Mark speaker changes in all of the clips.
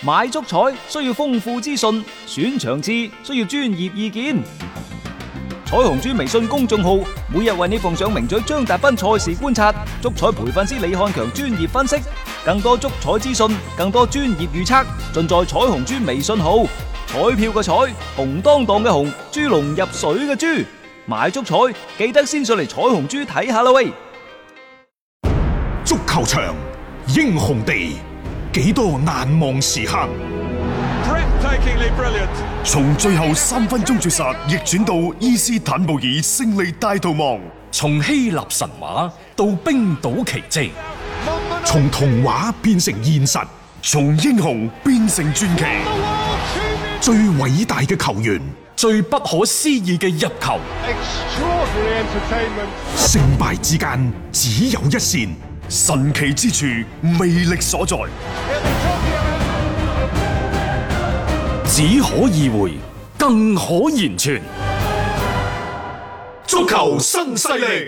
Speaker 1: 買足彩需要豐富資訊，選場次需要專業意見。彩虹豬微信公眾號每日為你奉上名嘴張達斌賽事觀察、足彩培訓師李漢強專業分析，更多足彩資訊，更多專業預測，盡在彩虹豬微信號。彩票嘅彩，紅當當嘅紅，豬籠入水嘅豬，買足彩記得先上嚟彩虹豬睇下啦喂！
Speaker 2: 足球場，英雄地，幾多難忘時刻。從最後3分鐘絕殺逆轉到伊斯坦布爾勝利大逃亡，
Speaker 3: 從希臘神話到冰島奇蹟，
Speaker 2: 從童話變成現實，從英雄變成傳奇。最偉大嘅球員，
Speaker 3: 最不可思議嘅入球，
Speaker 2: 勝敗之間只有一線，神奇之處魅力所在，
Speaker 3: 只可意會，更可言傳。
Speaker 2: 足球新勢力。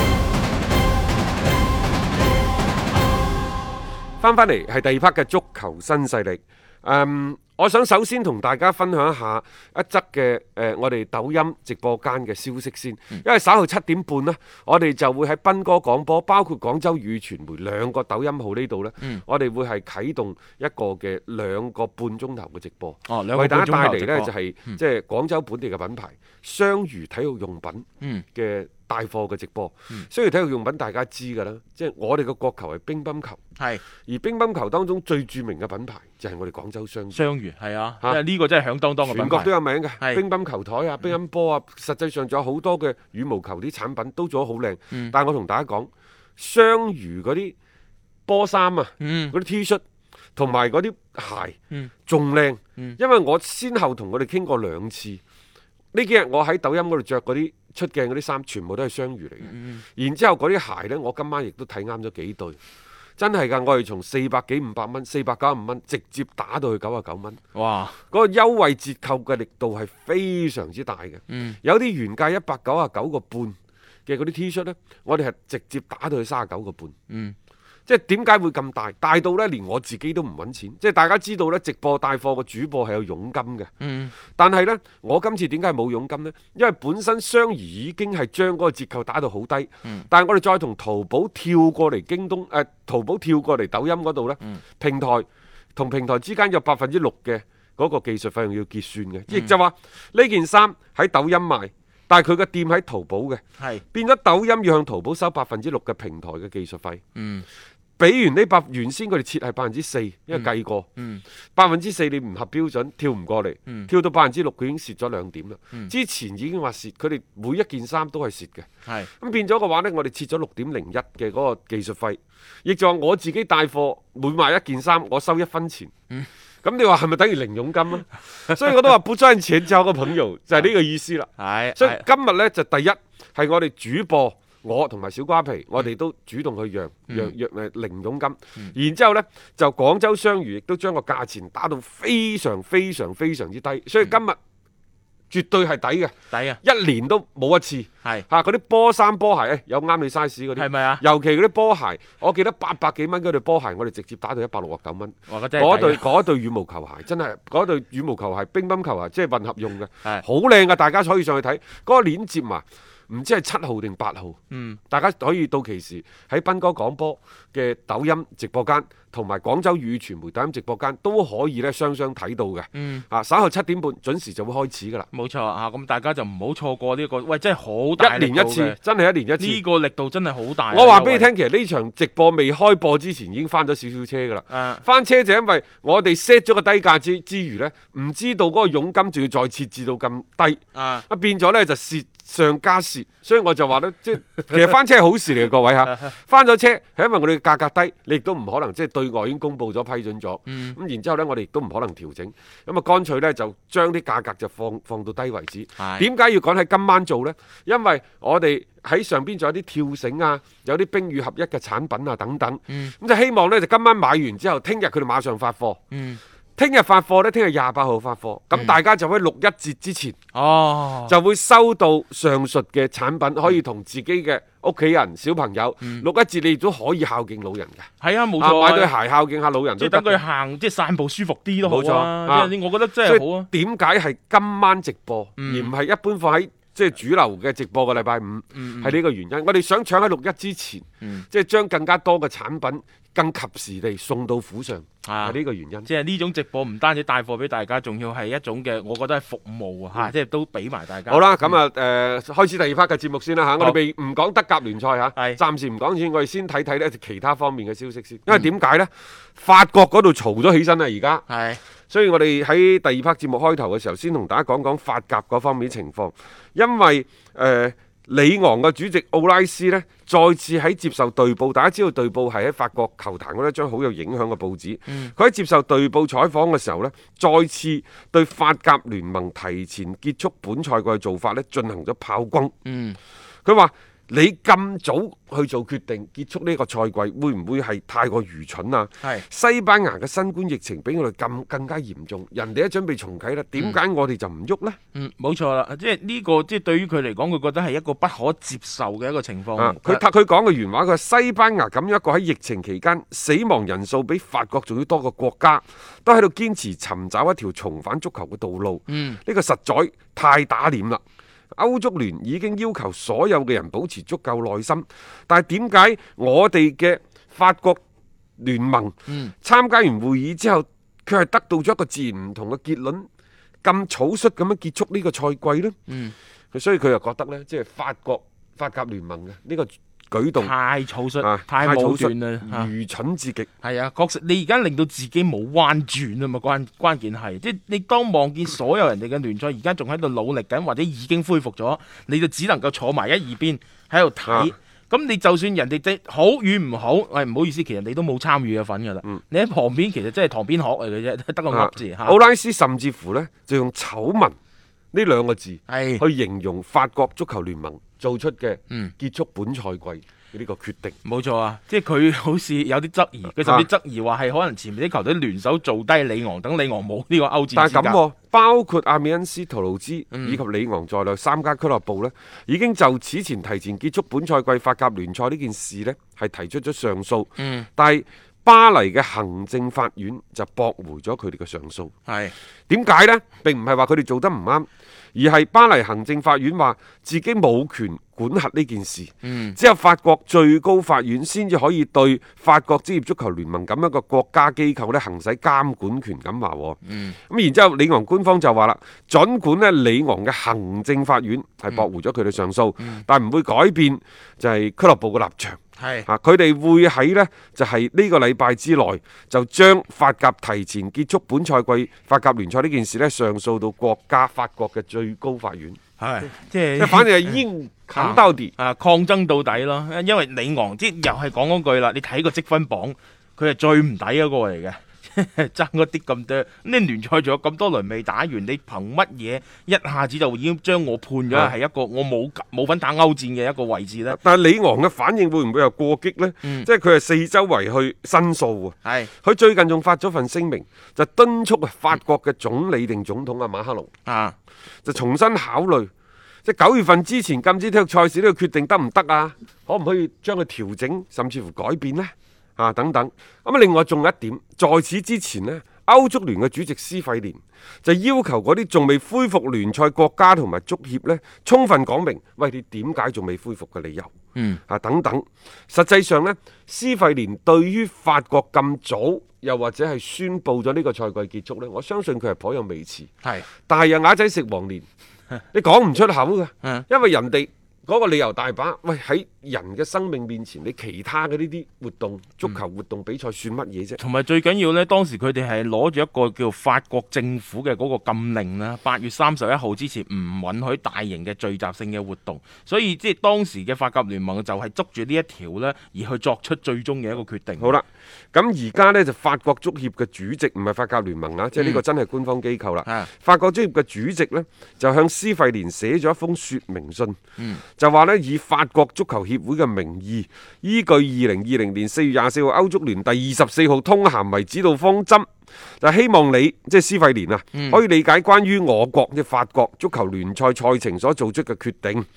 Speaker 4: 翻嚟係第二 part 嘅足球新勢力。我想首先同大家分享一下一則嘅我哋抖音直播間嘅消息先，因為稍後7點半呢，我哋就會喺斌哥廣播，包括廣州語傳媒兩個抖音號呢度呢，我哋會係啟動一個嘅2個半鐘頭嘅直播，為大家帶嚟呢就係即係廣州本地嘅品牌雙魚體育用品嘅帶貨嘅直播。雙魚體育用品大家知㗎啦，即係我哋嘅國球係乒乓球，而乒乓球當中最著名嘅品牌就係我哋廣州雙魚。
Speaker 5: 係啊，因為呢個真係響當當嘅品牌，
Speaker 4: 全國都有名嘅。乒乓球台啊，乒乓波啊，實際上仲有好多嘅羽毛球啲產品都做得好靚。但係我同大家講，雙魚嗰啲波衫啊，嗰啲 T 恤同埋嗰啲鞋仲靚，因為我先後同佢哋傾過2次。呢幾日我喺抖音嗰度着嗰啲出鏡嗰啲衫，全部都係雙魚嚟嘅。然之後嗰啲鞋呢，我今晚亦都睇啱咗幾對。真係㗎，我哋從400幾500蚊、495蚊直接打到去99蚊。哇！嗰個優惠折扣嘅力度係非常之大嘅。有啲原價199個半嘅嗰啲 T 恤呢，我哋係直接打到去39個半。即係點解會咁大？大到呢，連我自己都唔揾錢。即係大家知道呢，直播帶貨嘅主播係有佣金嘅。但係呢，我今次點解冇佣金呢？因為本身雙魚已經係將嗰個折扣打到好低。但係我哋再同淘寶跳過嚟京東，淘寶跳過嚟抖音嗰度呢，平台同平台之間有6%嘅嗰個技術費用要結算嘅。亦就話呢件衫喺抖音賣。但係佢嘅店喺淘寶嘅，變咗抖音要向淘寶收6%嘅平台嘅技術費。比完呢原先佢哋設係4%，因為計過4%你唔合標準跳唔過嚟，跳到6%佢已經蝕咗2點啦。之前已經話蝕，佢哋每一件衫都係蝕嘅。咁變咗嘅話呢，我哋設咗6.01嘅嗰個技術費，亦就話我自己帶貨每賣一件衫，我收1分錢。咁你話係咪等於零佣金啊？所以我都話不賺錢交個朋友就係呢個意思啦。所以今日呢，就第一係我哋主播，我同埋小瓜皮，我哋都主動去讓零佣金。然之後呢，就廣州雙魚亦都將個價錢打到非常非常非常之低。所以今日絕對係抵嘅，一年都冇一次。嗰啲波衫波鞋有啱你 size 嗰啲，係咪啊？尤其嗰啲波鞋，我記得800幾蚊嗰對波鞋，我哋直接打到169蚊。嗰對羽毛球鞋真係，嗰對羽毛球鞋、乒乓球鞋即係混合用嘅，好靚嘅，大家可以上去睇。嗰個鏈接嘛，唔知係7號定8號。大家可以到期時喺斌哥廣播嘅抖音直播間同埋廣州語傳媒抖音直播間都可以咧雙睇到嘅。稍後7點半準時就會開始㗎啦。
Speaker 5: 冇錯啊，咁大家就唔好錯過呢個，喂，真係好大力度嘅，
Speaker 4: 1年1次，真係1年1次。
Speaker 5: 呢個力度真係好大。
Speaker 4: 我話俾你聽，其實呢場直播未開播之前已經翻咗少少車㗎啦。翻車就因為我哋 set 咗個低價之餘呢，唔知道嗰個佣金仲要再設置到咁低，變咗呢就蝕上加蝕。所以我就話呢，即係其實翻車係好事嚟嘅，各位嚇。翻咗車係因為我哋嘅價格低，你亦都唔可能即係對外已經公佈咗批准咗。咁然之後呢，我哋亦都唔可能調整。咁啊，乾脆呢就將啲價格就放到低為止。點解要趕喺今晚做呢？因為我哋喺上邊仲有啲跳繩啊，有啲冰與合一嘅產品啊等等。咁就希望呢，就今晚買完之後，聽日佢哋馬上發貨。聽日發貨呢，聽日28號發貨，咁大家就可以6.1折之前就會收到上述嘅產品，可以同自己嘅屋企人、小朋友，六一節你亦都可以孝敬老人嘅。
Speaker 5: 係啊，冇錯
Speaker 4: 買對鞋孝敬下老人
Speaker 5: 即係
Speaker 4: 都得。
Speaker 5: 等佢行，即係散步舒服啲都好
Speaker 4: 冇錯
Speaker 5: 啊！即係我覺得真係好啊。
Speaker 4: 點解係今晚直播，而唔係一般放喺即係主流嘅直播嘅禮拜五？係呢個原因。我哋想搶喺六一之前，即係將更加多嘅產品更及時地送到府上，係呢個原因。
Speaker 5: 即係呢種直播唔單止帶貨俾大家，仲要係一種嘅，我覺得係服務啊！即係都俾埋大家。
Speaker 4: 好啦，咁啊開始第二 part 嘅節目先啦嚇。我哋未唔講德甲聯賽嚇，暫時唔講先，我哋先睇睇呢其他方面嘅消息先。因為點解呢？法國嗰度嘈咗起身啦，而家。係。所以我哋喺第二 part 節目開頭嘅時候，先同大家講講法甲嗰方面情況，因為里昂嘅主席奧拉斯呢，再次喺接受隊報，大家知道隊報係喺法國球壇嗰一張好有影響嘅報紙。佢喺接受隊報採訪嘅時候呢，再次對法甲聯盟提前結束本賽季嘅做法呢進行咗炮轟。佢話：你咁早去做決定結束呢個賽季，會唔會係太過愚蠢啊？西班牙嘅新冠疫情比我哋更加嚴重，人哋都準備重啟啦，點解我哋就唔喐呢？
Speaker 5: 冇錯啦，即係呢個即係對於佢嚟講，佢覺得係一個不可接受嘅一個情況。
Speaker 4: 佢講嘅原話，佢話西班牙咁樣一個喺疫情期間死亡人數比法國仲要多嘅國家，都喺度堅持尋找一條重返足球嘅道路。呢個實在太打臉啦！歐足聯已經要求所有嘅人保持足夠耐心，但係點解我哋嘅法國聯盟參加完會議之後，佢係得到咗一個自然唔同嘅結論，咁草率咁樣結束呢個賽季呢？所以佢又覺得呢，即係法甲聯盟嘅呢個舉動
Speaker 5: 太草率，太武斷啦，
Speaker 4: 愚蠢至極。
Speaker 5: 係啊，確實你而家令到自己冇彎轉啊嘛，關鍵係即係你當望見所有人哋嘅聯賽而家仲喺度努力緊，或者已經恢復咗，你就只能夠坐埋一二邊喺度睇。咁你就算人哋即好與唔好，唔好意思，其實你都冇參與嘅份噶啦。你喺旁邊其實真係旁邊學嚟嘅啫，得個噏字嚇。
Speaker 4: 奧拉斯甚至乎呢，就用醜聞呢兩個字去形容法國足球聯盟做出嘅結束本賽季呢個決定。
Speaker 5: 冇錯啊，即係佢好似有啲質疑，佢甚至質疑話係可能前面啲球隊聯手做低里昂，等里昂冇呢個歐戰資格。
Speaker 4: 但係咁，包括阿米恩斯、圖盧茲以及里昂在內三家俱樂部呢，已經就此前提前結束本賽季法甲聯賽呢件事呢，係提出咗上訴。但係巴黎嘅行政法院就駁回咗佢哋嘅上訴。點解呢？並唔係話佢哋做得唔啱，而係巴黎行政法院話自己冇權管轄呢件事，只有法國最高法院先至可以對法國職業足球聯盟咁一個國家機構咧行使監管權咁話。咁然之後，里昂官方就話啦，儘管咧里昂嘅行政法院係駁回咗佢哋上訴，但唔會改變就係俱樂部嘅立場。佢哋會喺呢就係呢個禮拜之內就將法甲提前結束本賽季法甲聯賽呢件事呢上訴到法國嘅最高法院。
Speaker 5: 即係
Speaker 4: 反正係硬抗到底
Speaker 5: 抗爭到底咯。因為里昂即又係講嗰句啦，你睇個積分榜，佢係最唔抵嗰個嚟嘅。爭嗰啲咁多，你聯賽仲有咁多輪未打完，你憑乜嘢一下子就已經將我判咗係一個我冇份打歐戰嘅一個位置呢？
Speaker 4: 但係里昂嘅反應會唔會又過激呢？即係佢係四周圍去申訴喎。佢最近仲發咗份聲明，就敦促法國嘅總理定總統馬克龍就重新考慮，即係9月份之前禁止體育賽事呢個決定得唔得啊？可唔可以將佢調整，甚至乎改變呢？等等。咁另外仲有一點，在此之前呢，歐足聯嘅主席施費連就要求嗰啲仲未恢復聯賽國家同埋足協呢，充分講明，喂，你點解仲未恢復嘅理由？等等。實際上呢，施費連對於法國咁早又或者係宣佈咗呢個賽季結束呢，我相信佢係頗有微詞。但係又啞仔食黃連，你講唔出口㗎，因為人哋嗰個理由大把。喂，喺人嘅生命面前，你其他嘅呢啲活動，足球活動比賽算乜嘢啫？同埋
Speaker 5: 最緊要呢，當時佢哋係攞住一個叫法國政府嘅嗰個禁令啦，8月31號之前唔允許大型嘅聚集性嘅活動，所以即係當時嘅法甲聯盟就係捉住呢一條呢，而去作出最終嘅一個決定。
Speaker 4: 好啦，咁而家呢，就法國足協嘅主席唔係法甲聯盟啊，即係呢個真係官方機構啦。法國足協嘅主席呢，就向施費連寫咗一封說明信，就話呢，以法國足球協會嘅名義，依據2020年4月24號歐足聯第24號通函為指導方針，就希望你即係施費連可以理解關於我國嘅法國足球聯賽賽程所做出嘅決定。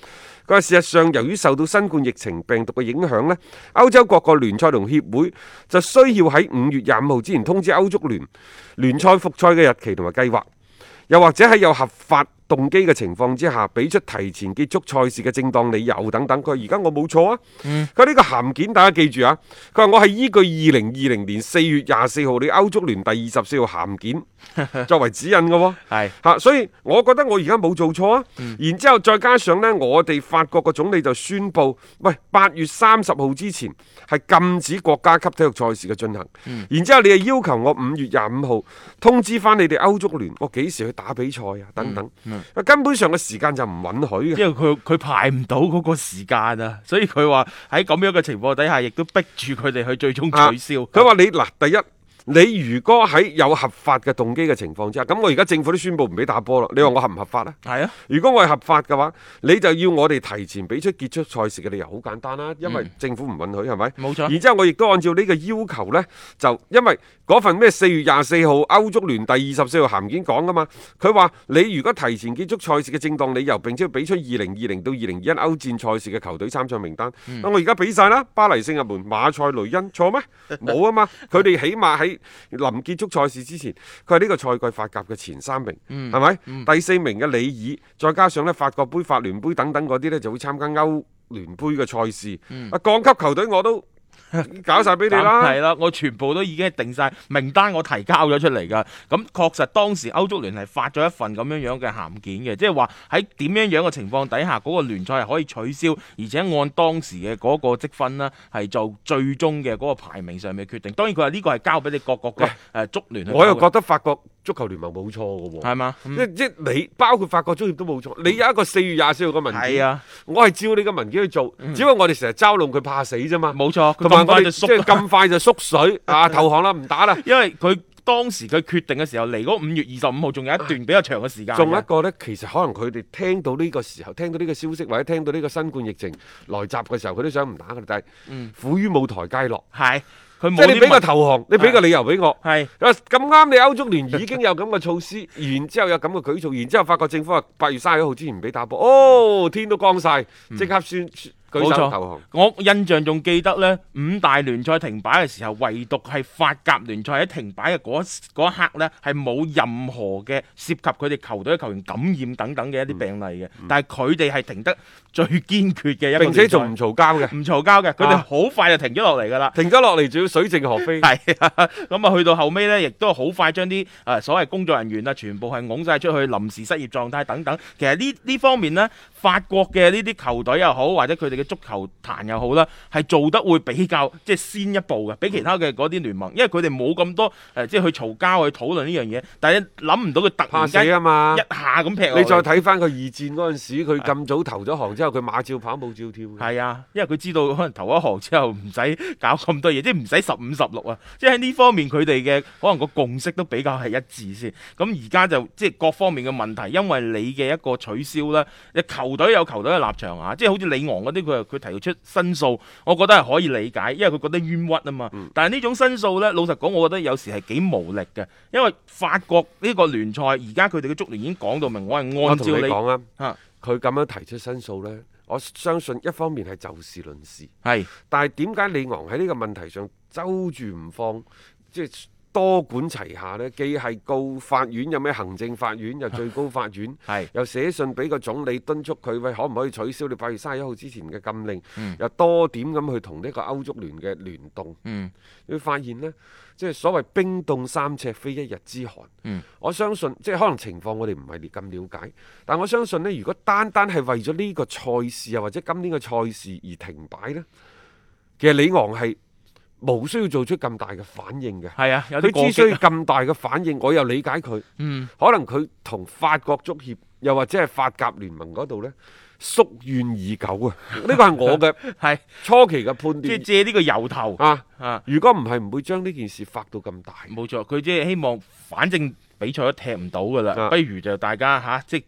Speaker 4: 佢話事實上由於受到新冠疫情病毒嘅影響呢，歐洲各個聯賽同協會就需要喺5月25號之前通知歐足聯賽復賽嘅日期同埋計劃，又或者喺有合法動機嘅情況之下，俾出提前結束賽事嘅正當理由等等。佢話而家我冇錯啊。佢呢個函件大家記住啊。佢話我係依據2020年4月24號你歐足聯第24號函件作為指引嘅喎。
Speaker 5: 係
Speaker 4: 嚇，所以我覺得我而家冇做錯啊。然之後再加上呢，我哋法國嘅總理就宣布，喂8月30號之前係禁止國家級體育賽事嘅進行。然之後你又要求我5月25號通知翻你哋歐足聯，我幾時去打比賽啊？等等。根本上嘅時間就唔允許嘅，
Speaker 5: 因為佢排唔到嗰個時間啊，所以佢話喺咁樣嘅情況底下，亦都逼住佢哋去最終取消。
Speaker 4: 佢話你嗱，第一。你如果喺有合法嘅動機嘅情況之下，咁我而家政府都宣布唔俾打波啦。你話我合唔合法呢？
Speaker 5: 係啊，
Speaker 4: 如果我係合法嘅話，你就要我哋提前俾出結束賽事嘅理由，好簡單啦，因為政府唔允許，係咪？
Speaker 5: 冇錯。
Speaker 4: 然之後我亦都按照呢個要求呢，就因為嗰份咩4月24號歐足聯第24號函件講噶嘛，佢話你如果提前結束賽事嘅正當理由，並且要俾出2020到2021歐戰賽事嘅球隊參賽名單，我而家俾晒啦，巴黎聖日門、馬賽雷恩，錯咩？冇啊嘛，佢哋起碼喺臨結束賽事之前，佢係呢個賽季法甲嘅前3名，係咪？第4名嘅里爾，再加上咧法國杯、法聯杯等等嗰啲呢，就會參加歐聯杯嘅賽事。降級球隊我都搞晒俾你啦，
Speaker 5: 係啦，我全部都已經定晒名單，我提交咗出嚟噶。咁確實當時歐足聯係發咗一份咁樣樣嘅函件嘅，即係話喺點樣樣嘅情況底下，嗰個聯賽係可以取消，而且按當時嘅嗰個積分呢，係做最終嘅嗰個排名上面決定。當然佢話呢個係交俾你各國嘅足聯去搞嘅。
Speaker 4: 我又覺得法國足球聯盟冇錯嘅喎，
Speaker 5: 係嘛？
Speaker 4: 即你包括法國足協都冇錯。你有一個4月24號嘅文件，
Speaker 5: 係啊，
Speaker 4: 我係照你嘅文件去做，只不過我哋成日嘲弄佢怕死啫嘛。
Speaker 5: 冇錯，
Speaker 4: 同埋我哋即係咁快就縮水啊，投降啦，唔打啦。
Speaker 5: 因為佢當時佢決定嘅時候嚟嗰5月25號，仲有一段比較長嘅時間。
Speaker 4: 仲有一個呢，其實可能佢哋聽到呢個時候，聽到呢個消息或者聽到呢個新冠疫情來襲嘅時候，佢都想唔打嘅，但係苦於冇台階落。
Speaker 5: 係。即
Speaker 4: 係你俾個投降，你俾個理由俾我。
Speaker 5: 係
Speaker 4: 咁啱，你歐足聯已經有咁嘅措施，然之後有咁嘅舉措，然之後法國政府話8月31號之前唔俾打波，哦，天都光晒，即刻舉手投降。
Speaker 5: 我印象仲記得呢，5大聯賽停擺嘅時候，唯獨係法甲聯賽喺停擺嘅嗰一刻呢，係冇任何嘅涉及佢哋球隊嘅球員感染等等嘅一啲病例嘅。但係佢哋係停得最堅決嘅一個聯賽，
Speaker 4: 並且仲唔嘈交嘅，
Speaker 5: 唔嘈交嘅，佢哋好快就停咗落嚟㗎啦，
Speaker 4: 停咗落嚟仲要水靜河飛。
Speaker 5: 係咁啊，去到後尾呢，亦都好快將啲所謂工作人員啊，全部係拱晒出去臨時失業狀態等等。其實呢方面呢，法國嘅呢啲球隊又好，或者佢哋嘅足球壇又好啦，係做得會比較即係先一步嘅，比其他嘅嗰啲聯盟，因為佢哋冇咁多即係去嘈交去討論呢樣嘢。但係諗唔到佢突然間
Speaker 4: 怕死啊嘛，
Speaker 5: 一下咁劈落嚟。
Speaker 4: 你再睇翻佢二戰嗰陣時，佢咁早投咗行之後，佢馬照跑，舞照跳。
Speaker 5: 係啊，因為佢知道可能投一行之後唔使搞咁多嘢，即係唔使15-16啊。即係喺呢方面佢哋嘅可能個共識都比較係一致先。咁而家就即係各方面嘅問題，因為你嘅一個取消啦，你球隊有球隊嘅立場啊，即係好似里昂嗰啲佢提出申訴，我覺得係可以理解，因為佢覺得冤屈啊嘛。但係呢種申訴呢，老實講，我覺得有時係幾無力嘅，因為法國呢個聯賽而家佢哋嘅足聯已經講到明，我係按照你
Speaker 4: 講啊，佢咁樣提出申訴呢，我相信一方面係就事論事，
Speaker 5: 係，但
Speaker 4: 係點解里昂喺呢個問題上周住唔放，即係多管齊下呢？既係告法院，有咩行政法院，又最高法院，又寫信俾個總理敦促佢，喂，可唔可以取消你8月31號之前嘅禁令？又多點咁去同呢個歐足聯嘅聯動。你會發現呢，即係所謂冰凍三尺非一日之寒。我相信即係可能情況我哋唔係咁了解，但我相信呢，如果單單係為咗呢個賽事啊，或者今年嘅賽事而停擺呢，其實里昂係冇需要做出咁大嘅反應嘅。
Speaker 5: 係啊，
Speaker 4: 佢之所以咁大嘅反應，我又理解佢。可能佢同法國足協又或者係法甲聯盟嗰度呢，宿怨已久啊！呢個係我嘅係初期嘅判斷，
Speaker 5: 即係借呢個由頭
Speaker 4: 如果唔係，唔會將呢件事發到咁大。
Speaker 5: 冇錯，佢即係希望，反正比賽都踢唔到噶啦，不如就大家即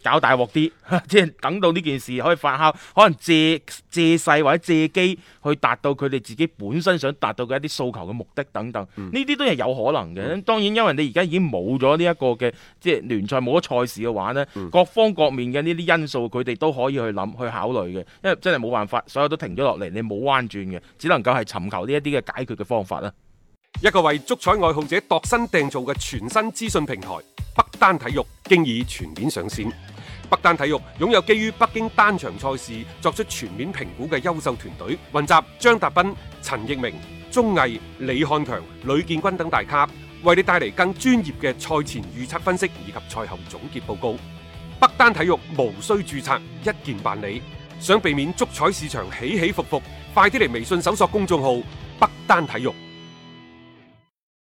Speaker 5: 搞大鑊啲，即係等到呢件事可以發酵，可能借勢或者借機去達到佢哋自己本身想達到嘅一啲訴求嘅目的等等，呢啲都係有可能嘅。當然，因為你而家已經冇咗呢一個嘅即係聯賽冇咗賽事嘅話呢，各方各面嘅呢啲因素佢哋都可以去諗去考慮嘅，因為真係冇辦法，所有都停咗落嚟，你冇彎轉嘅，只能夠係尋求呢一啲嘅解決嘅方法啦。
Speaker 4: 一個為足彩愛好者度身訂造嘅全新資訊平台北單體育經已全面上線。北單體育擁有基於北京單場賽事作出全面評估嘅優秀團隊，雲集張達斌、陳奕明、鐘毅、李漢強、呂建軍等大咖，為你帶嚟更專業嘅賽前預測分析以及賽後總結報告。北單體育無需註冊，一鍵辦理。想避免足彩市場起起伏伏，快啲嚟微信搜索公眾號北單體育。